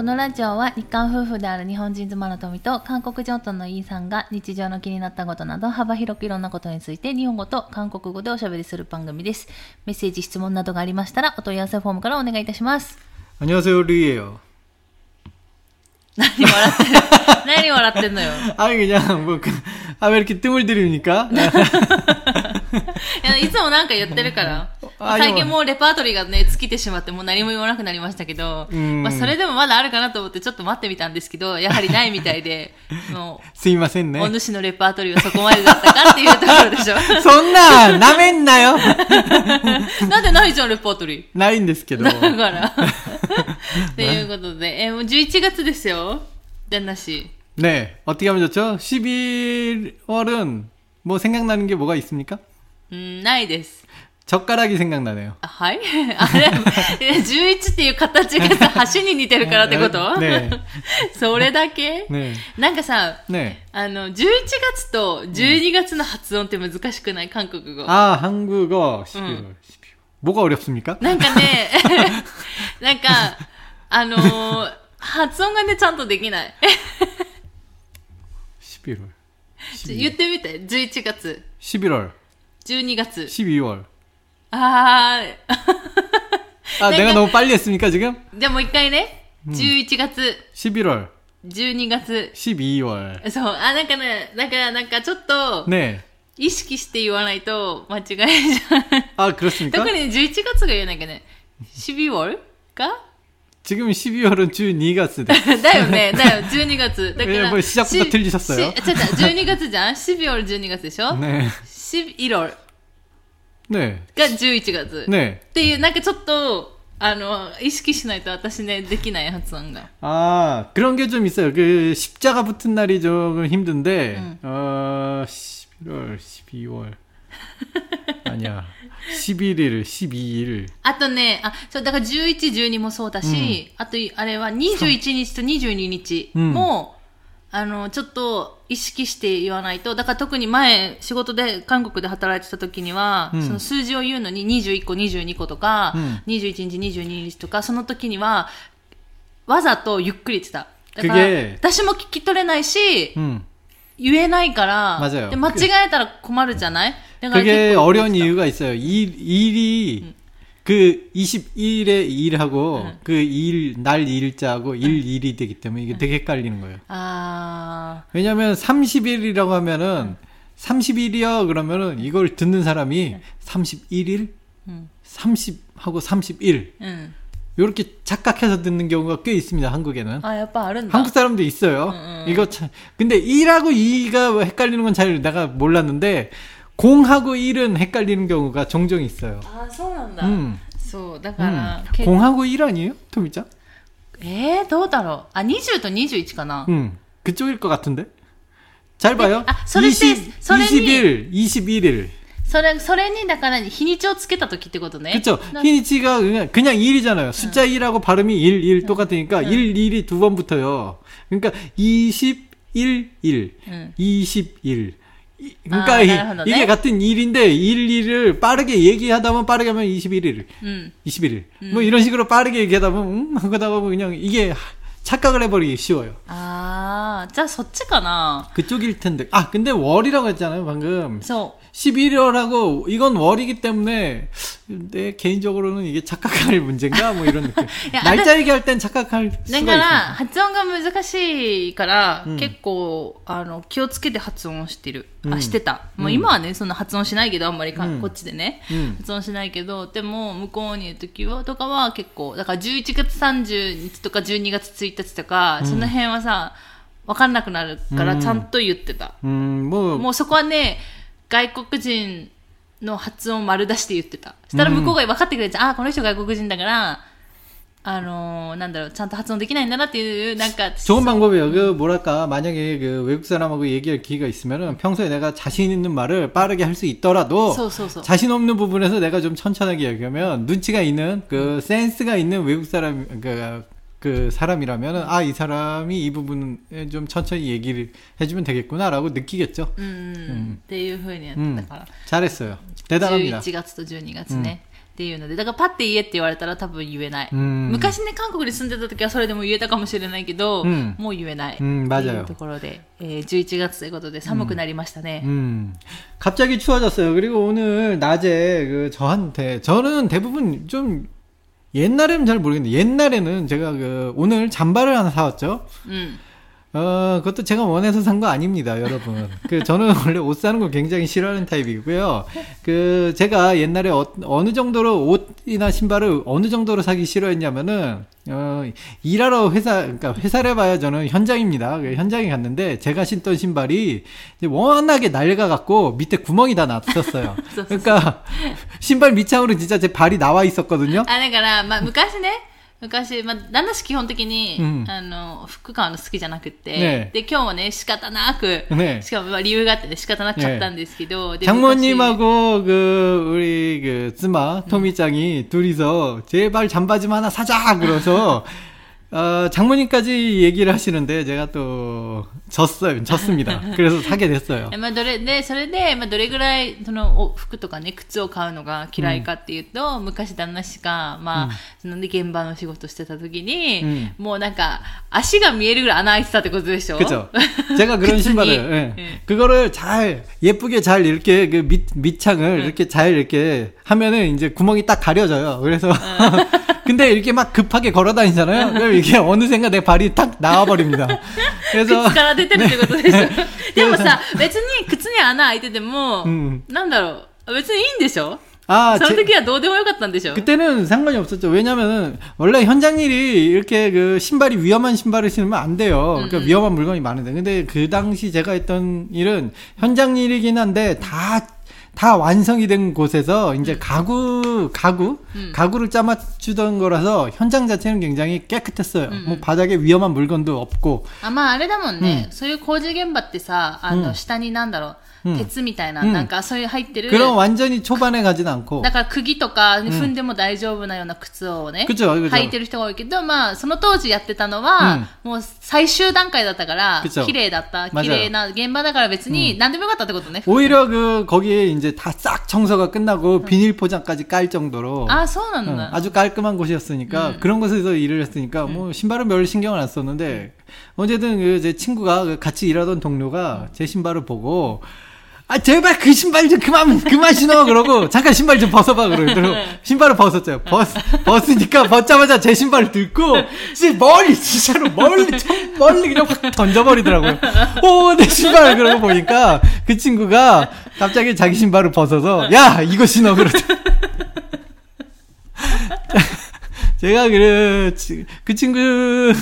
このラジオは日韓夫婦である日本人妻の富と韓国人夫のイーさんが日常の気になったことなど幅広くいろんなことについて日本語と韓国語でおしゃべりする番組です。メッセージ、質問などがありましたらお問い合わせフォームからお願いいたします。 안녕하세요, 루이예요. 何笑ってんのよ。 아니 그냥 왜 이렇게 뜸을 들이니까? いつもなんか言ってるから。最近もうレパートリーがね、尽きてしまってもう何も言わなくなりましたけど、まあそれでもまだあるかなと思ってちょっと待ってみたんですけど、やはりないみたいで、 すいませんね。 お主のレパートリーはそこまでだったかっていうところでしょ。 そんな、なめんなよ。 なんでないじゃん、レパートリー。 ないんですけど。 だから。っていうことで、もう11月ですよ。旦那씨。 네, 어떻게 하면 좋죠? 11월은 뭐 생각나는 게 뭐가 있습니까? ないです。 젓가락이 생각나네요. はいあれ11っていう形がさ、橋に似てるからってこと？ね。それだけ？ね。なんかさ、ね。11月と12月の発音って難しくない？韓国語。 あ、한국어 11월. 뭐가 어렵습니까? なんかね、なんか、発音がね、ちゃんとできない。 11월. 言ってみて、11月。 11월. 12月。 12월. 아, 내가 너무 빨리 했습니까, 지금? じゃあもう一回ね。11月。 11월. 12月。 12월. そう。なんかね、なんかちょっと、 ね。 意識して言わないと間違いじゃん。 그렇습니까? 特に11月が言えなきゃね。12월? か 지금 12월은 12月です。 だよね、12月。だから。 もう시작부터 틀리셨어요. 12月じゃん ?12월 12月でしょね。11월。 ね。 が11月。 ね。 っていう、なんかちょっと、意識しないと私ね、できない発音が。 그런 게 좀 있어요. 십자가 붙은 날이 좀 힘든데, 11월, 12월. 아니야. 11일, 12일. あとね、そう、だから11、12もそうだし、あと、あれは21日と22日も、ちょっと意識して言わないと、だから特に前、仕事で、韓国で働いてた時には、その数字を言うのに21個、22個とか、21日、22日とか、その時には、わざとゆっくり言ってた。だから、私も聞き取れないし、言えないから、で間違えたら困るじゃない？ 그게 어려운 이유가 있어요. 일이 그 21일에 일하고 그 날 일자하고 일이 되기 때문에 이게 되게 헷갈리는 거예요. 왜냐면 30일이라고 하면은 30일이요 그러면은 이걸 듣는 사람이 31일, 30하고 31 이렇게 착각해서 듣는 경우가 꽤 있습니다. 한국에는. 한국 사람도 있어요. 이거 참 근데 1하고 2가 헷갈리는 건 잘 내가 몰랐는데 0하고 1은 헷갈리는 경우가 종종 있어요. そうなんだ。そうだから、 0하고 1 아니에요? 토미짱? どうだろう。20と21かな。 그쪽일 것 같은데. 잘 봐요. 20일, 21일. それにだから日にちをつけた時ってことね。 그렇죠.日にちが 그냥 1이잖아요. 숫자 1하고 발음이 1 똑같으니까 1, 1이 두 번 붙어요. 그러니까 21, 1, 21. 그러니까 이게 같은 일인데 1을 빠르게 얘기하다 보면 빠르게 하면 21일, 21일. 뭐 이런 식으로 빠르게 얘기하다 보면 하다 보면 그냥 이게 착각을 해버리기 쉬워요. 자, そっちかな. 그쪽일 텐데. 근데 월이라고 했잖아요, 방금. 11월하고 이건 월이기 때문에 내 개인적으로는 이게 착각할 문제인가 뭐 이런 느낌. 날짜 얘기할 땐 착각할 수가 있습니다. だから発音が難しいから、結構気をつけて発音をしてる。してた。もう今はねそんな発音しないけどあんまりこっちでね、発音しないけど、でも向こうにいる時はとかは結構だから11月30日とか12月1日とか、その辺はさ分かんなくなるからちゃんと言ってた。もうそこはね。外国人の発音丸出して言ってた。したら向こうが分かってくれて、この人外国人だから、なんだろう、ちゃんと発音できないんだなっていう、なんか。 좋은 방법이에요. 뭐랄까, 만약에 외국 사람하고 얘기할 기회가 있으면은 평소에 내가 자신 있는 말을 빠르게 할 수 있더라도, 자신 없는 부분에서 내가 좀 천천하게 얘기하면, 눈치가 있는, 센스가 있는 외국 사람, 그 사람이라면은 이 사람이 이 부분에 좀 천천히 얘기를 해주면 되겠구나라고 느끼겠죠. っていう風にやってたから。 잘했어요. 대단합니다. 11月と12月ね。 っていうので、だからパッて言えって言われたら多分言えない。昔ね、韓国に住んでた時はそれでも言えたかもしれないけど、もう言えない。っていうところで、11月ということで寒くなりましたね。 갑자기 추워졌어요. 그리고 오늘 낮에 저는 대부분 좀 옛날에는 잘 모르겠는데 옛날에는 제가 오늘 잠바를 하나 사왔죠. 그것도 제가 원해서 산 거 아닙니다, 여러분. 저는 원래 옷 사는 거 굉장히 싫어하는 타입이고요. 제가 옛날에 어느 정도로 옷이나 신발을 어느 정도로 사기 싫어했냐면은, 일하러 그러니까 회사를 봐야 저는 현장입니다. 현장에 갔는데, 제가 신던 신발이 워낙에 낡아갖고 밑에 구멍이 다 났었어요. 그러니까, 신발 밑창으로 진짜 제 발이 나와 있었거든요. だから、昔ね、昔、旦那氏基本的に、服買うの好きじゃなくて、 ね、 で、今日もね、仕方なく、 ね、 しかも理由があってね、仕方なく買ったんですけど、 ね、장모님하고 우리妻, 토미짱이 둘이서 제발 잠바 좀 하나 사자! 그래서, 장모님까지 얘기를 하시는데 제가 또 졌습니다. 그래서 사게 됐어요. それで、どれぐらいその服とかね靴を買うのが嫌いかっていうと、昔旦那氏がその現場の仕事してた時に、もうなんか足が見えるぐらい穴開いてたってことでしょ? 그죠. 제가 그런 신발을 그거를 잘 예쁘게 잘 이렇게 그 밑창을 이렇게 잘 이렇게 하면은 이제 구멍이 딱 가려져요. 그래서 근데 이렇게 막 급하게 걸어 다니잖아요. 그럼 이게 어느샌가 내 발이 탁 나와버립니다. 그래서. 口から出てるってことでしょ。でもさ、別に靴に穴開いてても、なんだろう、別にいいんでしょ?その時はどうでもよかったんでしょ? 그때는 상관이 없었죠. 왜냐면은, 원래 현장 일이 이렇게 신발이 위험한 신발을 신으면 안 돼요. 그러니까 위험한 물건이 많은데. 근데 그 당시 제가 했던 일은 현장 일이긴 한데, 다 완성이 된 곳에서 이제 가구를 짜맞추던 거라서 현장 자체는 굉장히 깨끗했어요. 뭐 바닥에 위험한 물건도 없고. 아마 あれだもんね。そういう工事現場ってさ、下になんだろう。鉄みたいな、なんかそういう入ってる。 그럼 완전히 초반에 가진 않고. だから釘とか踏んでも大丈夫なような靴をね、履いてる人が多いけど、その当時やってたのは、もう最終段階だったから、綺麗だった、綺麗な現場だから別に何でもよかったってことね。 오히려 거기에 이제 다 싹 청소가 끝나고 비닐 포장까지 깔 정도로. 아, そうなんだ. 아주 깔끔한 곳이었으니까, 그런 곳에서 일을 했으니까, 뭐 신발은 별 신경을 안 썼는데, 어쨌든 제 친구가 같이 일하던 동료가 제 신발을 보고, 제발 그 신발 좀 그만 신어! 그러고, 잠깐 신발 좀 벗어봐! 그러고, 신발을 벗었죠. 벗으니까 벗자마자 제 신발을 들고, 진짜로 멀리 그냥 확 던져버리더라고요. 내 신발! 그러고 보니까, 그 친구가 갑자기 자기 신발을 벗어서, 야! 이거 신어! 그러죠. 제가 그 친구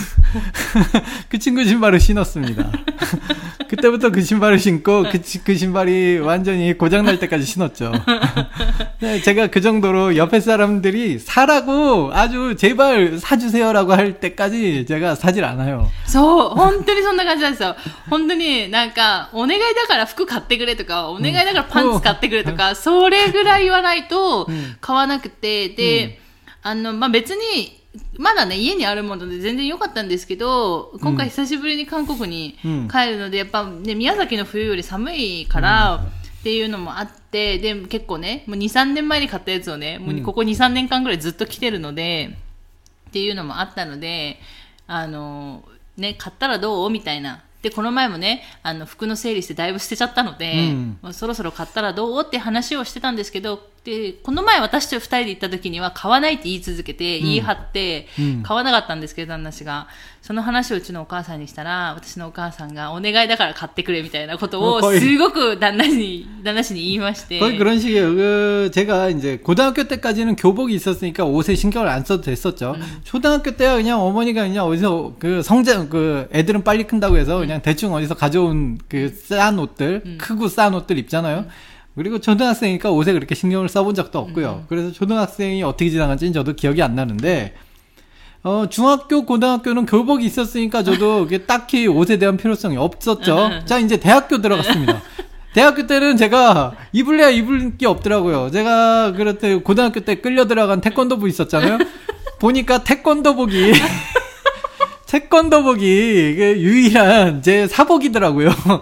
신발을 신었습니다. 그때부터 그 신발을 신고 그 신발이 완전히 고장날 때까지 신었죠. 제가 그 정도로 옆에 사람들이 사라고 아주 제발 사주세요라고 할 때까지 제가 사질 않아요. そう、本当にそんな感じなんですよ。本当になんかお願いだから服買ってくれとか、お願いだからパンツ買ってくれとか、それぐらい言わないと買わなくて、で、別にまだね、家にあるもので全然良かったんですけど、今回久しぶりに韓国に帰るので、やっぱね、宮崎の冬より寒いから、っていうのもあって、で、結構ね、もう2、3年前に買ったやつをね、もうここ2、3年間ぐらいずっと着てるので、っていうのもあったので、ね、買ったらどうみたいな。で、この前もね、服の整理してだいぶ捨てちゃったので、もうそろそろ買ったらどうって話をしてたんですけど、で、この前私と2人で行った時には買わないって言い続けて、言い張って、買わなかったんですけど、旦那氏が。その話をうちのお母さんにしたら、私のお母さんがお願いだから買ってくれみたいなことを、すごく旦那氏に言いまして。 거의 그런 식이에요. 제가 이제 고등학교 때까지는 교복이 있었으니까 옷에 신경을 안 써도 됐었죠. 초등학교 때야 그냥 어머니가 그냥 어디서 애들은 빨리 큰다고 해서 그냥 대충 어디서 가져온 싼 옷들, 크고 싼 옷들 입잖아요. 그리고 초등학생이니까 옷에 그렇게 신경을 써본 적도 없고요. 그래서 초등학생이 어떻게 지나간지는 저도 기억이 안 나는데, 중학교, 고등학교는 교복이 있었으니까 저도 딱히 옷에 대한 필요성이 없었죠. 자, 이제 대학교 들어갔습니다. 대학교 때는 제가 입을래야 입을 게 없더라고요. 제가 그렇대 고등학교 때 끌려 들어간 태권도부 있었잖아요. 보니까 태권도복이 유일한 제 사복이더라고요.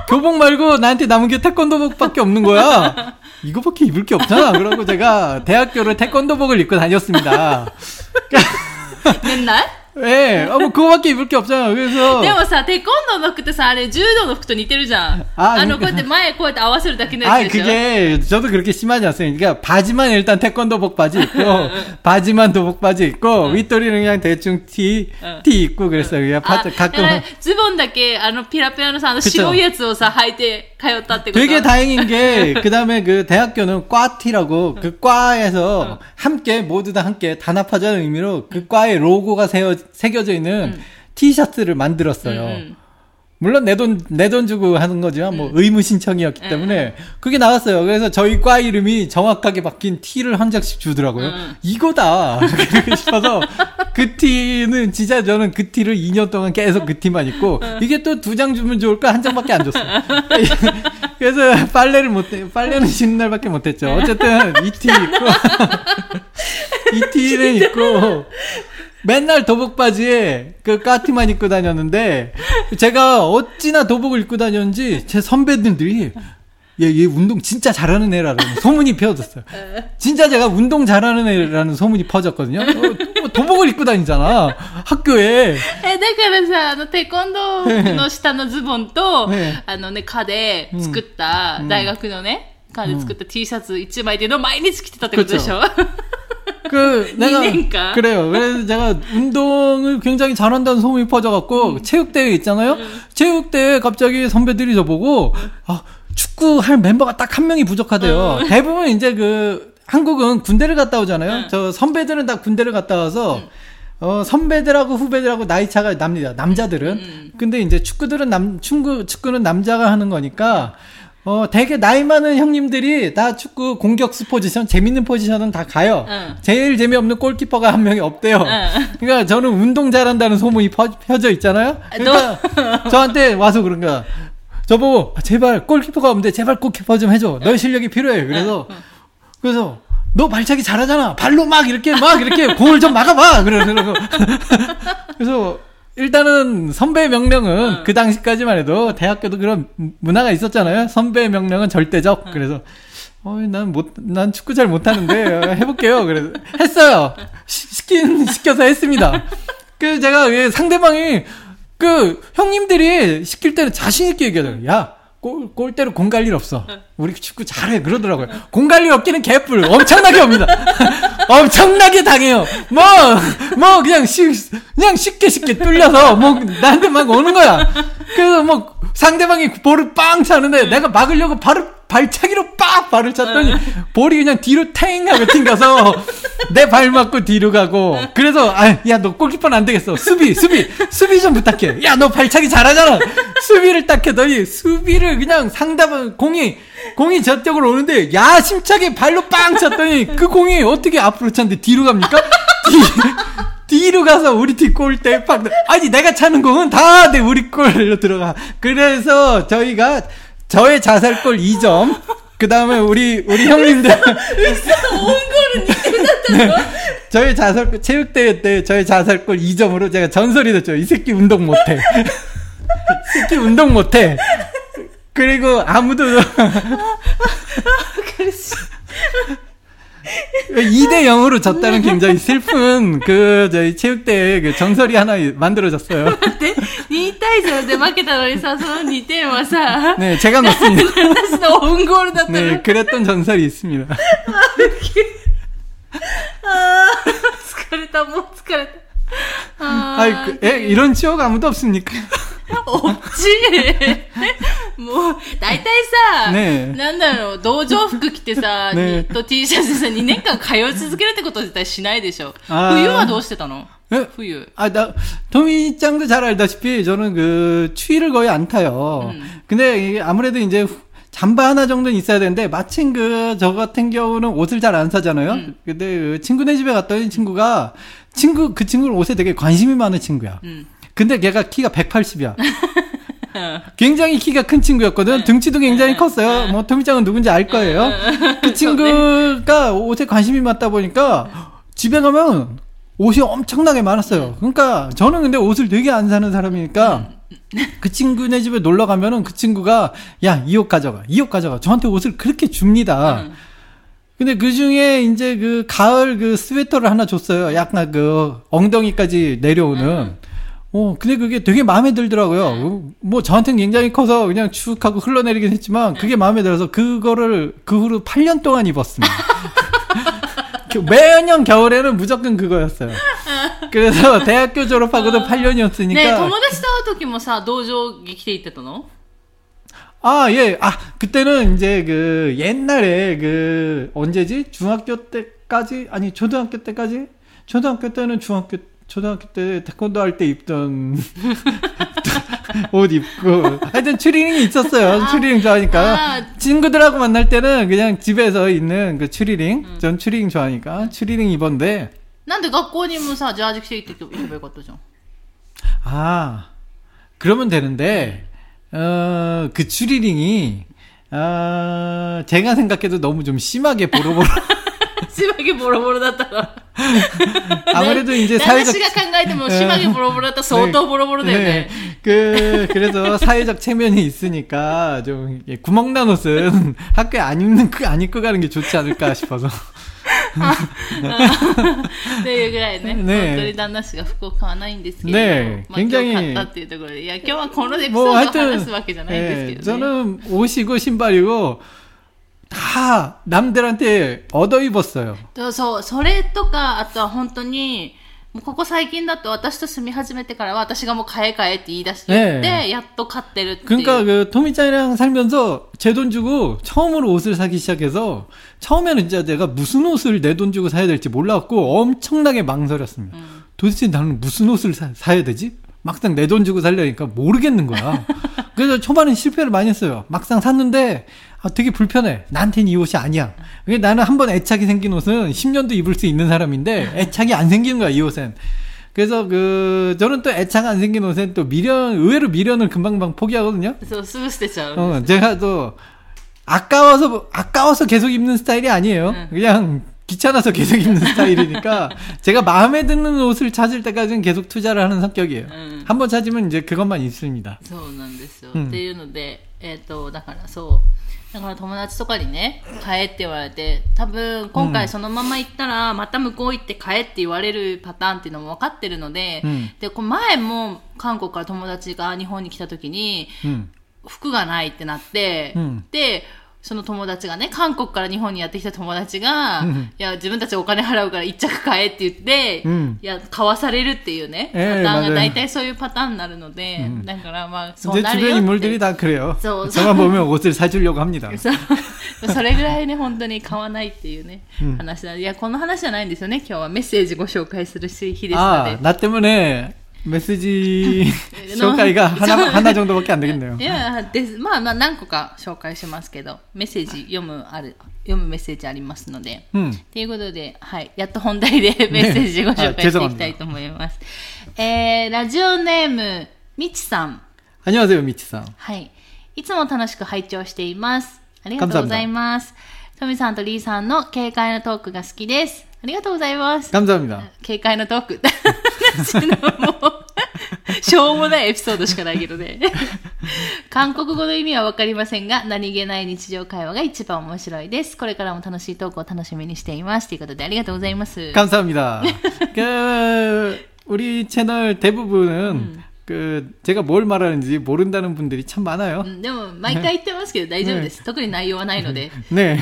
교복 말고 나한테 남은 게 태권도복밖에 없는 거야. 이거밖에 입을 게 없잖아. 그러고 제가 대학교를 태권도복을 입고 다녔습니다. 맨날? 네, 뭐 그거밖에 입을 게 없잖아. 그래서. でもさ、テコンドーの服ってさ、あれ柔道の服と似てるじゃん。こうやって前こうやって合わせるだけのやつでしょ。 그게 저도 그렇게 심하지 않습니다. 그러니까 바지만 일단 태권도복 바지 입고 바지만 도복 바지 입고 윗도리는 그냥 대충 티 입고 그랬어요. 그냥 가끔 ズボンだけピラピラのさ、白いやつをさ履いて通ったってこと。 되게 다행인 게 그다음에 그 대학교는 과티라고 그 과에서 함께 모두 다 함께 단합하자는 의미로 그 과의 로고가 새겨져 있는 티셔츠를 만들었어요. 물론 내 돈 주고 하는 거지만 뭐 의무 신청이었기 때문에 그게 나왔어요. 그래서 저희 과 이름이 정확하게 바뀐 티를 한 장씩 주더라고요. 이거다 싶어서 그 티는 진짜 저는 그 티를 2년 동안 계속 그 티만 입고 이게 또 2장 주면 좋을까 한 장밖에 안 줬어요. 그래서 빨래는 쉬는 날밖에 못했죠. 어쨌든 이 티 입고 이 티는 입고 맨날 도복 바지에 그 까티만 입고 다녔는데 제가 어찌나 도복을 입고 다녔는지 제 선배들이 얘 운동 진짜 잘하는 애라는 소문이 퍼졌어요. 진짜 제가 운동 잘하는 애라는 소문이 퍼졌거든요. 도복을 입고 다니잖아 학교에. だからさ、テコンドーの下のズボンと課で作った大学のね、課で作った T シャツ1枚での毎日着てたってことでしょ。 내가 그래요. 그래서 제가 운동을 굉장히 잘한다는 소문이 퍼져갖고 체육대회 있잖아요. 체육대회 갑자기 선배들이 저보고 축구 할 멤버가 딱 한 명이 부족하대요. 대부분 이제 한국은 군대를 갔다 오잖아요. 저 선배들은 다 군대를 갔다 와서 선배들하고 후배들하고 나이 차가 납니다. 남자들은. 근데 이제 축구는 남자가 하는 거니까. 되게 나이 많은 형님들이 다 축구 공격수 포지션, 재밌는 포지션은 다 가요. 제일 재미없는 골키퍼가 한 명이 없대요. 그러니까 저는 운동 잘한다는 소문이 펴져 있잖아요. 그러니까 저한테 와서 그런 거야. 저보고 제발 골키퍼가 없는데 제발 골키퍼 좀 해줘. 너의 실력이 필요해. 그래서 너 발차기 잘하잖아. 발로 막 이렇게 공을 좀 막아봐. 그러고. 그래서 일단은 선배의 명령은 그 당시까지만 해도 대학교도 그런 문화가 있었잖아요. 선배의 명령은 절대적. 그래서 난 축구 잘 못하는데 해볼게요. 그래서 했어요. 시켜서 했습니다. 그래서 제가 상대방이 형님들이 시킬 때는 자신 있게 얘기하더라고요. 야, 골대로 공 갈 일 없어. 우리 축구 잘해. 그러더라고요. 공 갈 일 없기는 개뿔. 엄청나게 옵니다. 엄청나게 당해요. 그냥 쉽게 뚫려서, 나한테 막 오는 거야. 그래서 상대방이 볼을 빵 차는데 내가 막으려고 발차기로 빡 발을 찼더니 볼이 그냥 뒤로 탱 하고 튕겨서 내 발 맞고 뒤로 가고. 그래서 야, 너 골키퍼는 안 되겠어. 수비 좀 부탁해. 야, 너 발차기 잘하잖아. 수비를 딱 했더니 수비를 그냥 상대방 공이 저쪽으로 오는데 야심차게 발로 빵 찼더니 그 공이 어떻게 앞으로 찼는데 뒤로 갑니까? 뒤로 가서 우리 팀 골대에 팍. 아니, 내가 차는 공은 다 우리 골로 들어가. 그래서 저의 자살골 2점. 그 다음에 우리 형님들. 네, 저의 자살골, 체육대회 때 저의 자살골 2점으로 제가 전설이 됐죠. 이 새끼 운동 못해. 새끼 운동 못해. 그리고 아무도. 2대0으로 졌다는 굉장히 슬픈 저희 체육대회 전설이 하나 만들어졌어요. 2対0で負けたのにさ、その2点はさ、 네, 제가 넣었습니다. 私のオウンゴールだったの。 네, 그랬던 전설이 있습니다. 疲れた、もう疲れた。 이런 추억 아무도 없습니까? 없지. もう大体さ、なんだろう、道場服着てさ、ニット T シャツでさ、2年間通い続けるってこと自体しないでしょ。冬はどうしてたの？ 冬. 토미짱도 잘 알다시피 저는 추위를 거의 안 타요. 근데 이게 아무래도 이제 잠바 하나 정도는 있어야 되는데 마침 저 같은 경우는 옷을 잘 안 사잖아요. 근데 친구네 집에 갔더니 그 친구는 옷에 되게 관심이 많은 친구야. 근데 걔가 키가 180이야. 굉장히 키가 큰 친구였거든. 등치도 굉장히 컸어요. 토미짱은 누군지 알 거예요. 그 친구가 옷에 관심이 많다 보니까 집에 가면 옷이 엄청나게 많았어요. 그러니까 저는 근데 옷을 되게 안 사는 사람이니까 그 친구네 집에 놀러 가면은 그 친구가 야, 이 옷 가져가. 이 옷 가져가. 저한테 옷을 그렇게 줍니다. 근데 그 중에 이제 그 가을 그 스웨터를 하나 줬어요. 약간 그 엉덩이까지 내려오는. 근데 그게 되게 마음에 들더라고요. 뭐 저한테는 굉장히 커서 그냥 축 하고 흘러내리긴 했지만 그게 마음에 들어서 그거를 그 후로 8년 동안 입었습니다. 매년 겨울에는 무조건 그거였어요. 그래서 대학교 졸업하고도 8년이었으니까. 네, 友達と会う時もさ、道場に来ていってたの? 아, 예. 아, 그때는 이제 그 옛날에 그 언제지? 중학교 때까지? 아니, 초등학교 때까지? 초등학교 때는 초등학교 때 태권도 할 때 입던 옷 입고 하여튼 추리닝이 있었어요. 추리닝 좋아하니까. 친구들하고 만날 때는 그냥 집에서 있는 그 추리닝. 전 추리닝 좋아하니까 추리닝 입었는데. なんで学校にもさ、ジャージ着て行っていけばよかったじゃん. 아, 그러면 되는데 그 추리닝이 제가 생각해도 너무 좀 심하게 보로보로 심하게 보로보로 だったら 아무래도 이제 사회적 私が考えても심하게 보로보로 だったら相当ボロボロだよね. 그래서 사회적 체면이 있으니까 좀 구멍 난 옷은 학교에 안 입고 가는 게 좋지 않을까 싶어서. っていうぐらいね。本当に旦那氏が服を買わないんですけど、 ね、 まあ、今日買ったっていうところで、いや今日はこのエピソードを話すわけじゃないんですけどね。 저는 옷이고 신발이고 다 남들한테 얻어 입었어요. そう、それとか、あとは本当に、もうここ最近だと私と住み始めてからは私がもう買えって言い出して、やっと買ってるっていう。 그러니까 그 토미짱이랑 살면서 제 돈 주고 처음으로 옷을 사기 시작해서 처음에는 진짜 내가 무슨 옷을 내 돈 주고 사야 될지 몰랐고 엄청나게 망설였습니다. 도대체 나는 무슨 옷을 사야 되지? 막상 내 돈 주고 살려니까 모르겠는 거야. 그래서 초반엔 실패를 많이 했어요. 막상 샀는데 되게 불편해. 나한테는 이 옷이 아니야. 나는 한번 애착이 생긴 옷은 10년도 입을 수 있는 사람인데 애착이 안 생기는 거야, 이 옷엔. 그래서 저는 또 애착 안 생긴 옷엔 또 의외로 미련을 금방 포기하거든요. 제가 또 아까워서 계속 입는 스타일이 아니에요. 그냥 귀찮아서 계속 입는 스타일이니까 제가 마음에 드는 옷을 찾을 때까지는 계속 투자를 하는 성격이에요. 한번 찾으면 이제 그것만 있습니다. そうなんですよ。っていうので、だからそう。だから友達とかにね、買えって言われて、多分今回そのまま行ったら、また向こう行って買えって言われるパターンっていうのも分かってるので、で、前も韓国から友達が日本に来た時に、服がないってなって、で、その友達がね、韓国から日本にやってきた友達が、いや、自分たちお金払うから一着買えって言って、いや、買わされるっていうね、パターンが大体そういうパターンになるので、だからまあ、そうなるよって。 주변 인물들이 다 그래요. 저만 보면 옷을 사주려고 합니다. それぐらいね、本当に買わないっていうね、話なんで、いや、この話じゃないんですよね、今日はメッセージご紹介する日ですので。 나 때문에 메시지紹介が 하나 정도밖에 안 되겠네요. いや、まあ何個か紹介しますけど、メッセージ読むメッセージありますので、ということで、はい、やっと本題でメッセージご紹介していきたいと思います。ラジオネームみちさん。 안녕하세요、みちさん。 はい、いつも楽しく拝聴しています。ありがとうございます。トミさんとリーさんの軽快なトークが好きです。ありがとうございます。 감사합니다。 軽快なトーク。もうしょうもないエピソードしかないけどね。韓国語の意味はわかりませんが、何気ない日常会話が一番面白いです。これからも楽しいトークを楽しみにしています。ということでありがとうございます。 감사합니다。우리 채널 대부분은 제가 뭘 말하는지 모른다는 분들이 참 많아요. でも毎回言ってますけど大丈夫です。特に内容はないので。 네.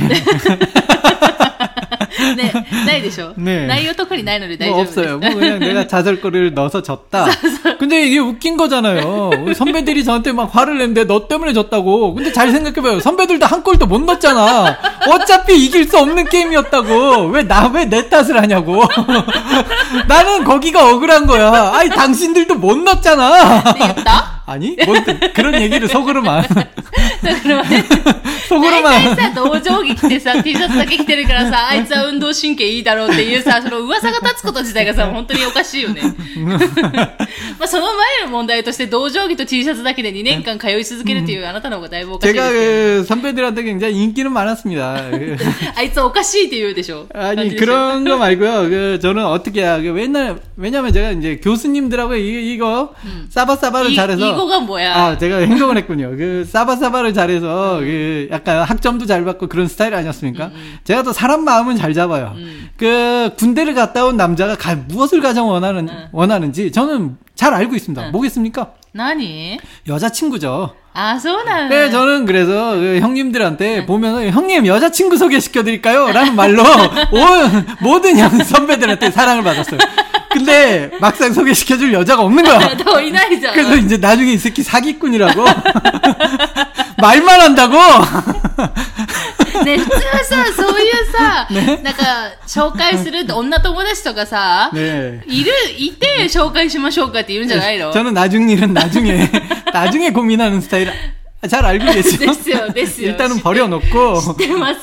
네, ないでしょ? 네. 内容特にないので大丈夫です. 없어요. 뭐 그냥 내가 자절거리를 넣어서 졌다. 근데 이게 웃긴 거잖아요. 선배들이 저한테 막 화를 냈는데 너 때문에 졌다고. 근데 잘 생각해봐요. 선배들도 한 골도 못 넣었잖아. 어차피 이길 수 없는 게임이었다고. 왜 내 탓을 하냐고. 나는 거기가 억울한 거야. 아니 당신들도 못 넣었잖아. 이겼다? 아니? 뭐 그런 얘기를 속으로만. 속으로만. 大体さ、同情着着てさ、T シャツだけ着てるからさ、あいつは運動神経いいだろうっていうさ、その噂が立つこと自体がさ、本当におかしいよね。まあその前の問題として、同情着と T シャツだけで2年間通い続けるっていうあなたの方がだいぶおかしいですけど。 선배들한테 굉장히 인기는 많았습니다. あいつおかしいって言うでしょ. 아니, 그런 거 말고요. 저는 어떻게 해야, 왜냐면 제가 이제 교수님들하고 이거 사바사바를 잘해서. 이거가 뭐야? 아, 제가 행동을 했군요. 사바사바를 잘해서, 약간 학점도 잘 받고 그런 스타일 아니었습니까? 제가 또 사람 마음은 잘 잡아요. 군대를 갔다 온 남자가 무엇을 가장 원하는지 저는 잘 알고 있습니다. 뭐겠습니까? 나니? 여자친구죠. 아, そうなんだ. 네, 저는 그래서 형님들한테 보면은 형님 여자친구 소개시켜드릴까요? 라는 말로 모든 선배들한테 사랑을 받았어요. 근데 막상 소개시켜줄 여자가 없는 거야. 더 이나이잖아. 그래서 이제 나중에 이 새끼 사기꾼이라고 말만 한다고. ね、普通はさ、そういうさ、なんか、紹介する女友達とかさ、いて紹介しましょうかって言うんじゃないの? 저는 나중 일은 나중에 고민하는 스타일 잘 알고 계시죠? 됐어요. 일단은 버려놓고. 知ってます.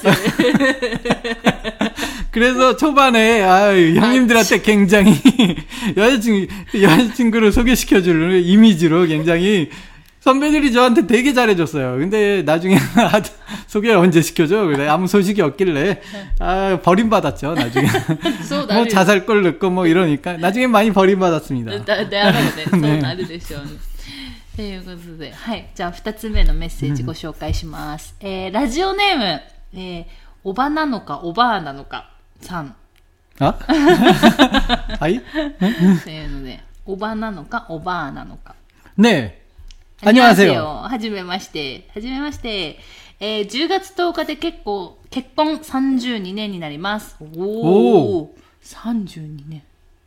그래서 초반에 형님들한테 굉장히 여자친구를 소개시켜주는 이미지로 굉장히 선배들이 저한테 되게 잘해줬어요. 근데 나중에 소개를 언제 시켜줘? 그래 아무 소식이 없길래 버림받았죠. 나중에 뭐 자살골 넣고 뭐 이러니까 나중에 많이 버림받았습니다. そうなるでしょうね。ということで、はい、じゃあ2つ目のメッセージご紹介します。ラジオネーム、おばなのかおばあなのかさん。 あはい。 というので、おばなのかおばあなのか。 ねえ。안녕하세요. はじめまして。10月10日で結婚32年になります。おー。32年。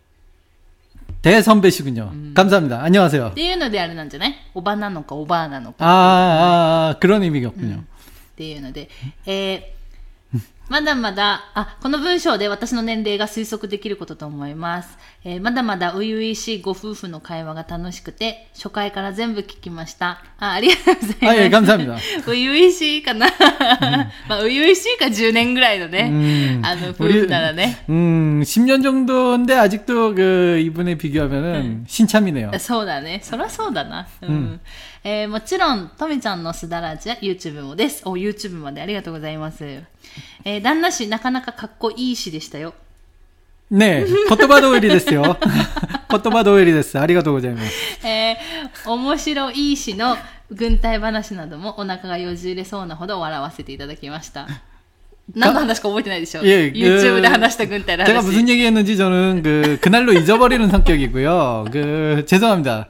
대선배시군요. 감사합니다. 안녕하세요. っていうのであれなんじゃない?おばなのかおばあなのか。 그런 의미였군요. っていうので、まだまだ、この文章で私の年齢が推測できることと思います。まだまだ初々しいご夫婦の会話が楽しくて、初回から全部聞きました。ありがとうございます。 예、감사합니다。 初々しいかな。まあ、初々しいか10年ぐらいのね、夫婦ならね。 10년 정도인데 아직도 이분에 비교하면은 신참이네요. そうだね。そりゃそうだな。もちろん、とみちゃんのすだらじや YouTube もです。YouTube までありがとうございます。旦那氏、なかなかかっこいい氏でしたよ。 ね、言葉通りですよ。言葉通りです。ありがとうございます。 面白い氏の軍隊話などもお腹がよじれそうなほど笑わせていただきました。何の話か覚えてないでしょ? 예, YouTube で話した軍隊の話. 제가 무슨 얘기했는지 저는 그날로 잊어버리는 성격이고요. 죄송합니다.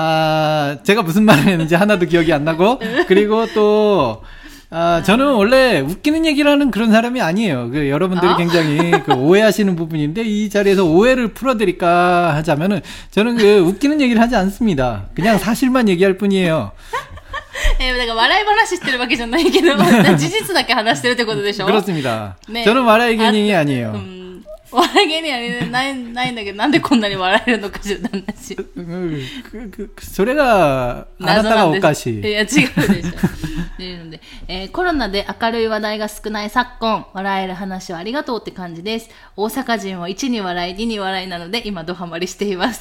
제가 무슨 말을 했는지 하나도 기억이 안 나고, 그리고 또, 저는 원래 웃기는 얘기를 하는 그런 사람이 아니에요. 여러분들이 굉장히 오해하시는 부분인데, 이 자리에서 오해를 풀어드릴까 하자면은, 저는 웃기는 얘기를 하지 않습니다. 그냥 사실만 얘기할 뿐이에요. だから笑い話してるわけじゃないけど、事実だけ話してるってことでしょ? 그렇습니다. 저는笑い芸人이 아니에요. 笑い芸人はないんだけど、なんでこんなに笑えるのかしら、旦那氏。 それが、あなたがおかしい。 いや、違うでしょ。というので、コロナで明るい話題が少ない昨今、笑える話をありがとうって感じです。大阪人は1に笑い、2に笑いなので、今ドハマりしています。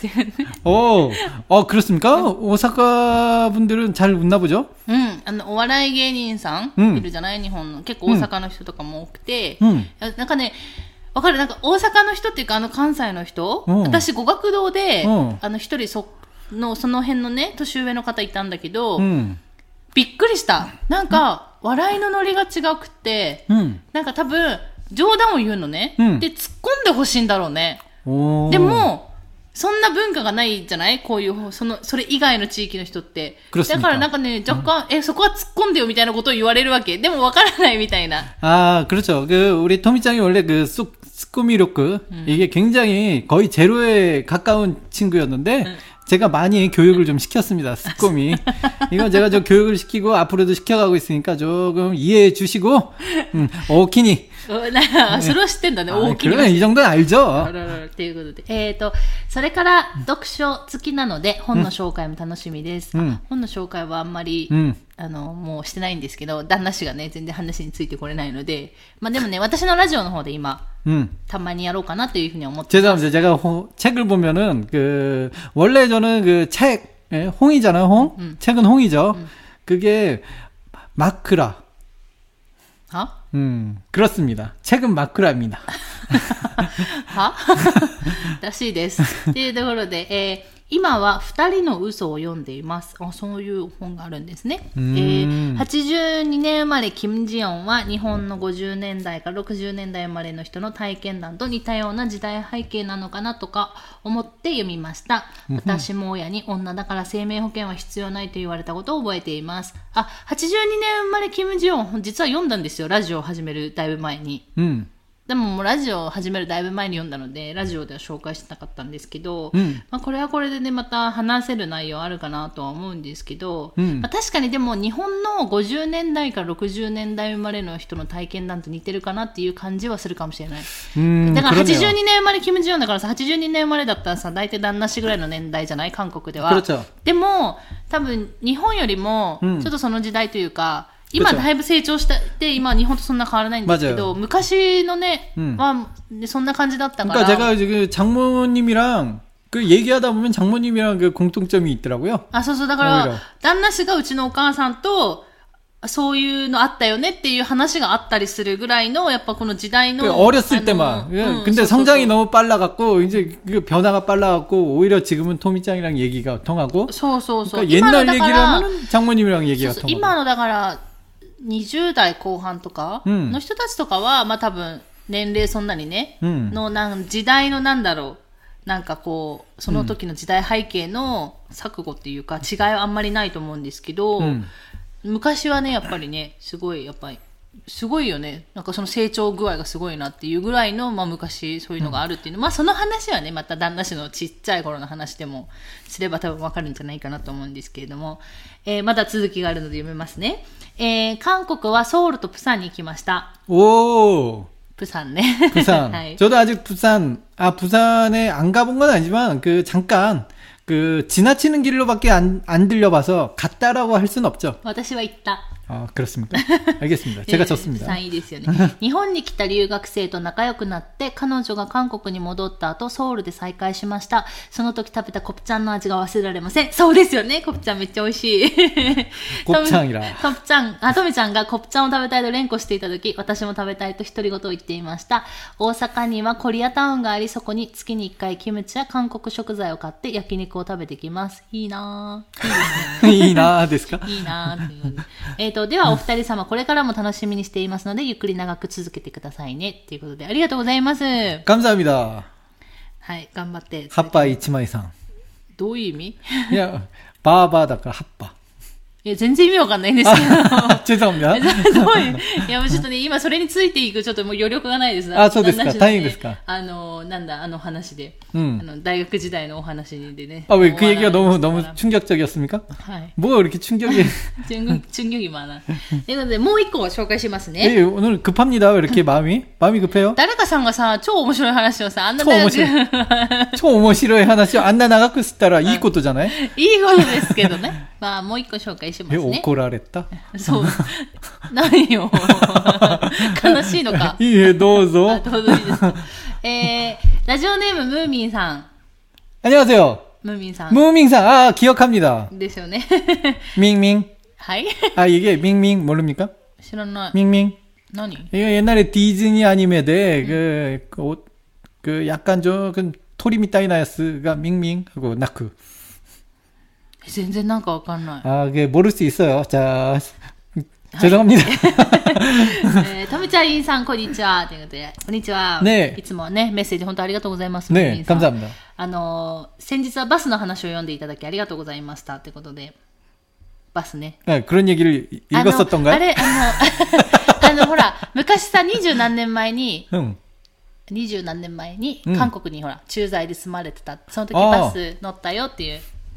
그렇습니까? 오사카 분들은 잘 웃나 보죠? お笑い芸人さんいるじゃない?日本の。結構大阪の人とかも多くて、なんかね、わかる?なんか大阪の人っていうか関西の人、私語学堂で、一人その辺のね、年上の方いたんだけど、びっくりした。なんか、笑いのノリが違くて、なんか多分、冗談を言うのね。で、突っ込んでほしいんだろうね。でも、そんな文化がないじゃない?こういう、それ以外の地域の人って。だからなんかね、若干、そこは突っ込んでよみたいなことを言われるわけ。でもわからないみたいな。 그렇죠. 우리 토미짱이 원래 스코미로크, 이게 굉장히 거의 제로에 가까운 친구였는데, 제가 많이 교육을 좀 시켰습니다. 스코미. 이건 제가 좀 교육을 시키고 앞으로도 시켜가고 있으니까 조금 이해해 주시고, 오키니. それは知ってんだね、大きに。 그러면 이 정도는 알죠. ということで。それから読書好きなので、本の紹介も楽しみです。本の紹介はあんまり、もうしてないんですけど、旦那氏がね、全然話についてこれないので、まあでもね、私のラジオの方で今、たまにやろうかなというふうに思ってます。 죄송합니다. 제가 책을 보면은, 원래 저는 홍이잖아요, 홍? 책은 홍이죠. 그게, 마크라. 그렇습니다. 책은 마크라입니다. はらしいです。というところで、今は二人の嘘を読んでいます。そういう本があるんですね。82年生まれキム・ジヨンは日本の50年代から60年代生まれの人の体験談と似たような時代背景なのかなとか思って読みました。私も親に女だから生命保険は必要ないと言われたことを覚えています。82年生まれキム・ジヨン実は読んだんですよ。ラジオを始めるだいぶ前に。でももうラジオを始めるだいぶ前に読んだのでラジオでは紹介してなかったんですけど、これはこれでねまた話せる内容あるかなとは思うんですけど、確かにでも日本の50年代から60年代生まれの人の体験談と似てるかなっていう感じはするかもしれない。だから82年生まれキム・ジヨンだからさ、82年生まれだったらさ大体旦那氏ぐらいの年代じゃない韓国では。でも多分日本よりもちょっとその時代というか、今だいぶ成長して今日本とそんな変わらないんですけど、昔のねはそんな感じだったから。 그러니까 제가 장모님이랑 얘기하다 보면 장모님이랑 공통점이 있더라고요. そうそう、だから旦那氏がうちのお母さんとそういうのあったよねっていう話があったりするぐらいのやっぱこの時代の 어렸을 때만. 근데 성장이 너무 빨라갖고 이제 변화가 빨라갖고 오히려 지금은 토미짱이랑 얘기가 통하고. 그러니까 옛날 얘기를 하면 장모님이랑 얘기가 통하고. 今のだから20代後半とかの人たちとかは、まあ多分年齢そんなにね、の時代のなんだろう、なんかこう、その時の時代背景の錯誤っていうか違いはあんまりないと思うんですけど、昔はね、やっぱりね、すごいよね。なんかその成長具合がすごいなっていうぐらいの、まあ昔そういうのがあるっていうの。まあその話はね、また旦那氏のちっちゃい頃の話でもすれば多分わかるんじゃないかなと思うんですけれども、まだ続きがあるので読めますね。韓国はソウルとプサンに行きました。 오! 부산 네. 부산. 저도 아직 부산에 안 가본 건 아니지만 잠깐 지나치는 길로밖에 안 들려봐서 갔다라고 할 수는 없죠. 私は行った。 그렇습니까? 알겠습니다. 제가 졌습니다. いいですよね。日本に来た留学生と仲良くなって彼女が韓国に戻った後ソウルで再会しました。その時食べたコプチャンの味が忘れられません。そうですよね。コプチャンめっちゃ美味しい。 コプチャンいら。 トミちゃんがコプチャンを食べたいと連呼していた時、私も食べたいと独り言を言っていました。大阪にはコリアタウンがあり、そこに月に1回キムチや韓国食材を買って焼肉を食べてきます。いいなぁ。 いいなぁですか？ いいなぁ。ではお二人様これからも楽しみにしていますのでゆっくり長く続けてくださいねということでありがとうございます。 감사합니다。 はい、頑張って。 葉っぱ一枚さん。 どういう意味？ いや、バーバーだから葉っぱ。 全然意味わかんないんですけど。 죄송합니다。 いや、もうちょっとね、今それについていくちょっともう余力がないです。 そうですか。大変ですか。 なんだ、話で。大学時代のお話でね。 왜 그 얘기가 너무 충격적이었습니까? 뭐가 그렇게 충격이. 충격이 많아. ということで、もう一個紹介しますね。 오늘 급합니다. 왜 이렇게 마음이 급해요? 誰かさんがさ、超面白い話をさ、あんな超面白い話をあんな長くしたらいいことじゃない？ いいことですけどね。まあ、もう一個紹介しますね。 怒られた？ そう。何よ。悲しいのか。 いいえ、どうぞ。 どうぞいいですか。ラジオネームムーミンさん。 안녕하세요。 ムーミンさん。 ムーミンさん、기억합니다。 ですよね。 밍밍。 はい。 이게 밍밍 모릅니까? 知らない。 밍밍. 何? 이거 옛날에 디즈니 아니메데 약간 토리미 따이나야스가 밍밍 하고 나크. 全然なんかわかんない。 그게 모를 수 있어요. 자, 죄송합니다. トミちゃんさん、こんにちは。ということで、こんにちは。 ね、 いつもね、メッセージ本当ありがとうございます。 ね、감사합니다。 先日はバスの話を読んでいただきありがとうございました。ということで、バスね。 그런 얘기를 읽었었던가요? あれ、ほら、昔さ、20何年前に、韓国にほら、駐在で住まれてた。その時バス乗ったよっていう。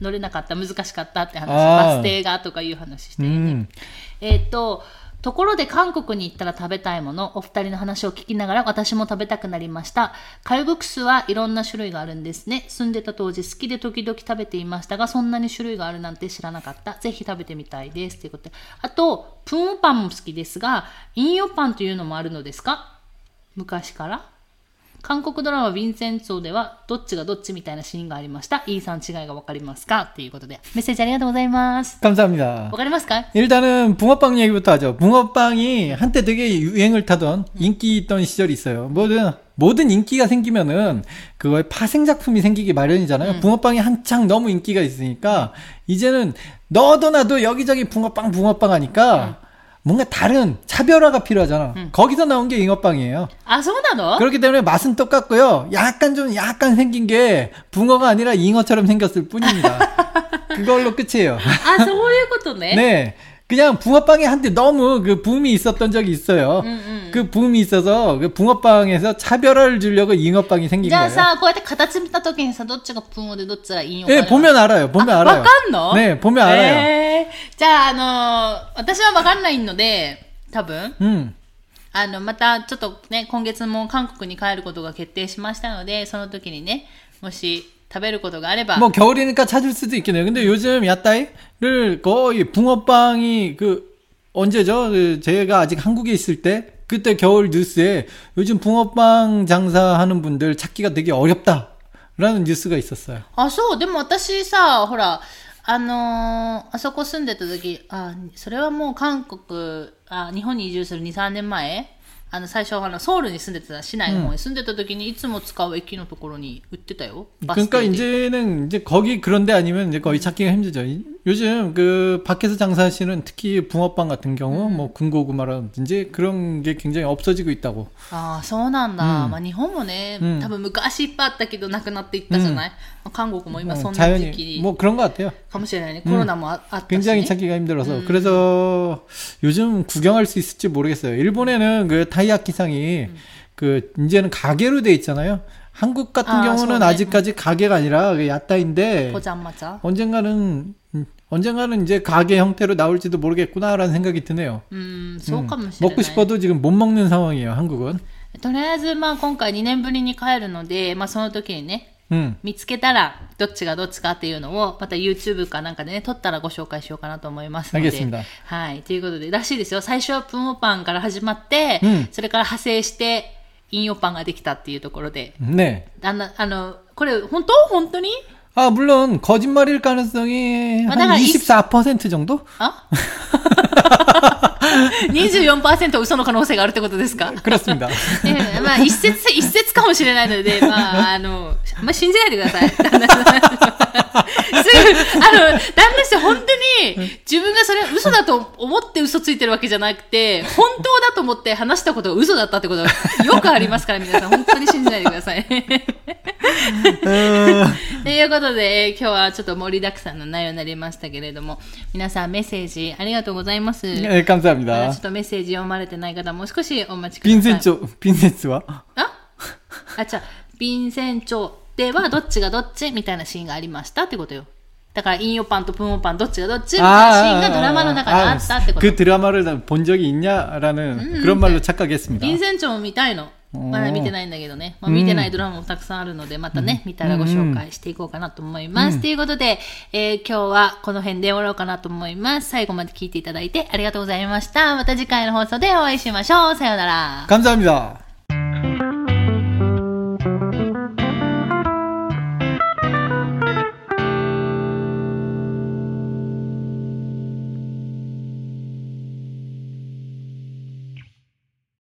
乗れなかった、難しかったって話、バス停がとかいう話してね。ところで韓国に行ったら食べたいもの、お二人の話を聞きながら私も食べたくなりました。カルボクスはいろんな種類があるんですね。住んでた当時好きで時々食べていましたが、そんなに種類があるなんて知らなかった。ぜひ食べてみたいです。ということで。あと、プンオパンも好きですが、インヨパンというのもあるのですか？昔から韓国ドラマヴィンセンツォではどっちがどっちみたいなシーンがありました。イーさん違いがわかりますか？ということでメッセージありがとうございます。 감사합니다. わかりますか? 일단은 붕어빵 얘기부터 하죠. 붕어빵이 한때 되게 유행을 타던 인기 있던 시절이 있어요. 모든 인기가 생기면은 그거에 파생 작품이 생기기 마련이잖아요. 붕어빵이 한창 너무 인기가 있으니까 이제는 너도 나도 여기저기 붕어빵 하니까 뭔가 다른 차별화가 필요하잖아. 거기서 나온 게 잉어빵이에요. 아, 소나노? 그렇기 때문에 맛은 똑같고요. 약간 생긴 게 붕어가 아니라 잉어처럼 생겼을 뿐입니다. 그걸로 끝이에요. 아, そういうことね. 네. 그냥 붕어빵이 한때 너무 그 붐이 있었던 적이 있어요. 그 붐이 있어서 그 붕어빵에서 차별화를 주려고 잉어빵이 생긴 거예요. じゃあさ、こうやって形見た時にさ、どっちが붕어でどっちが잉어? 네, 보면 알아요. 알아요. わかんの? 네, 보면 알아요. じゃあ、私はわかんないので、多分、またちょっとね、今月も韓国に帰ることが決定しましたので、その時にね、もし食べることがあれば。 뭐 겨울이니까 찾을 수도 있겠네요. 근데 요즘 야따이를 거의 붕어빵이 언제죠? 제가 아직 한국에 있을 때 그때 겨울 뉴스에 요즘 붕어빵 장사하는 분들 찾기가 되게 어렵다라는 뉴스가 있었어요. 아, そう。でも私さ、ほら、あそこ住んでた時、それはもう韓国、日本に移住する2、3年前、最初ソウルに住んでた市内の方に住んでた時にいつも使う駅のところに売ってたよ。 그러니까 이제는 거기 그런 데 아니면 이제 거의 찾기가 힘들죠. 요즘 그 밖에서 장사하시는 특히 붕어빵 같은 경우 뭐 군고구마라든지 그런 게 굉장히 없어지고 있다고. そうなんだ。まあ日本もね、多分昔いっぱいあったけどなくなっていったじゃない。韓国も今そんな時期 뭐 그런 것 같아요. かもしれないね。コロナもあったし、ね。 굉장히 찾기가 힘들어서. 그래서 요즘 구경할 수 있을지 모르겠어요. 일본에는 그 타이야키상이 이제는 가게로 돼 있잖아요. 한국 같은 경우는 아직까지 가게가 아니라 야따인데 언젠가는 이제 가게 형태로 나올지도 모르겠구나라는 생각이 드네요. 먹고 싶어도 지금 못 먹는 상황이에요, 한국은. とりあえず今回2年ぶりに帰るので、その時にね、見つけたらどっちがどっちかっていうのをまた YouTube かなんかでね撮ったらご紹介しようかなと思いますので、はい、ということでらしいですよ。最初はプンオパンから始まって、それから派生してインヨパンができたっていうところで、 ね、 これ本当に? 물론 거짓말일 가능성이 한 24% 정도? 24% 嘘の可能性があるってことですか? 그렇습니다. 一説かもしれないので、あんま信じないでください。旦那氏本当に自分がそれ嘘だと思って嘘ついてるわけじゃなくて、本当だと思って話したことが嘘だったってことがよくありますから、皆さん本当に信じないでください。ということで、今日はちょっと盛りだくさんの内容になりましたけれども、皆さんメッセージありがとうございます。 감사합니다. ちょっとメッセージ読まれてない方もう少しお待ちください。 빈센츠와 빈센츠ではどっちがどっちみたいなシーンがありましたってことよ。だからインヨパンとプンオパンどっちがどっちみたいなシーンがドラマの中であったってこと。 그 드라마를 본 적이 있냐라는 그런 말로 착각했습니다. 빈센츠も見たいの。まだ見てないんだけどね。見てないドラマもたくさんあるので、またね、見たらご紹介していこうかなと思います。ということで、今日はこの辺で終わろうかなと思います。最後まで聞いていただいてありがとうございました。また次回の放送でお会いしましょう。さようなら。 감사합니다.